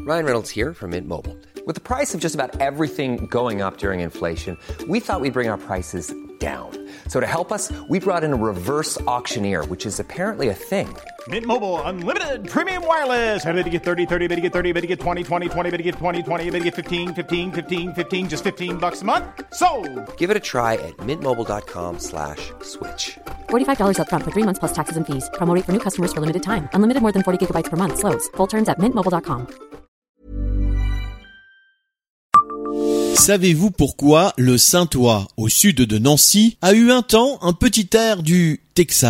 Ryan Reynolds here from Mint Mobile. With the price of just about everything going up during inflation, we thought we'd bring our prices down. So to help us, we brought in a reverse auctioneer, which is apparently a thing. Mint Mobile Unlimited Premium Wireless. How to get 30, 30, bit to get 30, bit to get 20, 20, 20, bit to get 20, 20, bit to get 15, 15, 15, 15, just $15 a month? Sold! Give it a try at mintmobile.com/switch. $45 up front for 3 months plus taxes and fees. Promo rate for new customers for limited time. Unlimited more than 40 gigabytes per month. Slows full terms at mintmobile.com. Savez-vous pourquoi le Saintois, au sud de Nancy, a eu un temps un petit air du Texas ?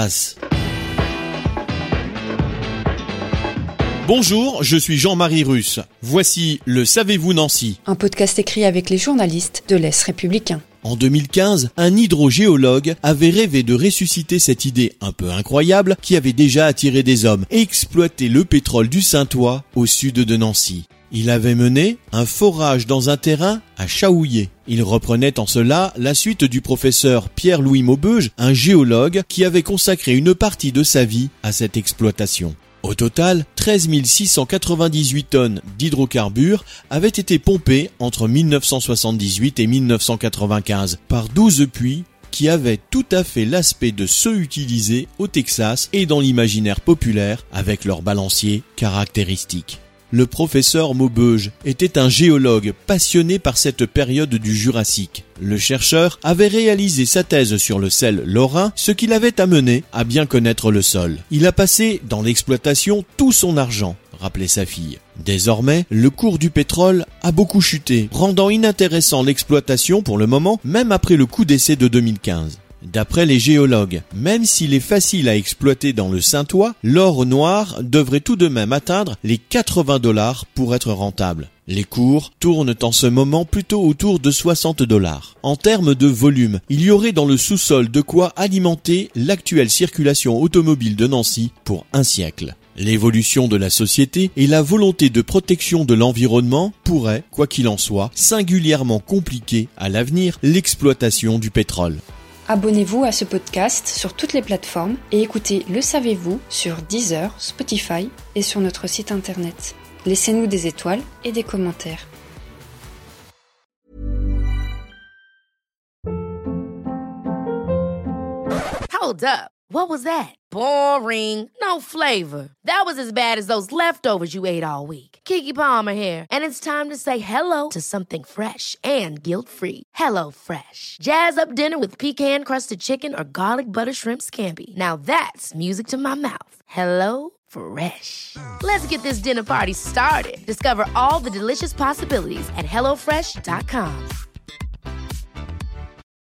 Bonjour, je suis Jean-Marie Russe. Voici le Savez-vous Nancy ? Un podcast écrit avec les journalistes de l'Est républicain. En 2015, un hydrogéologue avait rêvé de ressusciter cette idée un peu incroyable qui avait déjà attiré des hommes et exploité le pétrole du Saintois au sud de Nancy. Il avait mené un forage dans un terrain à Chaouillet. Il reprenait en cela la suite du professeur Pierre-Louis Maubeuge, un géologue qui avait consacré une partie de sa vie à cette exploitation. Au total, 13 698 tonnes d'hydrocarbures avaient été pompées entre 1978 et 1995 par 12 puits qui avaient tout à fait l'aspect de ceux utilisés au Texas et dans l'imaginaire populaire avec leurs balanciers caractéristiques. Le professeur Maubeuge était un géologue passionné par cette période du Jurassique. Le chercheur avait réalisé sa thèse sur le sel lorrain, ce qui l'avait amené à bien connaître le sol. Il a passé dans l'exploitation tout son argent, rappelait sa fille. Désormais, le cours du pétrole a beaucoup chuté, rendant inintéressant l'exploitation pour le moment, même après le coup d'essai de 2015. D'après les géologues, même s'il est facile à exploiter dans le Saintois, l'or noir devrait tout de même atteindre les $80 pour être rentable. Les cours tournent en ce moment plutôt autour de $60. En termes de volume, il y aurait dans le sous-sol de quoi alimenter l'actuelle circulation automobile de Nancy pour un siècle. L'évolution de la société et la volonté de protection de l'environnement pourraient, quoi qu'il en soit, singulièrement compliquer à l'avenir l'exploitation du pétrole. Abonnez-vous à ce podcast sur toutes les plateformes et écoutez Le Savez-vous sur Deezer, Spotify et sur notre site internet. Laissez-nous des étoiles et des commentaires. Hold up. What was that? Boring. No flavor. That was as bad as those leftovers you ate all week. Keke Palmer here, and it's time to say hello to something fresh and guilt-free. Hello Fresh. Jazz up dinner with pecan-crusted chicken or garlic butter shrimp scampi. Now that's music to my mouth. Hello Fresh. Let's get this dinner party started. Discover all the delicious possibilities at HelloFresh.com.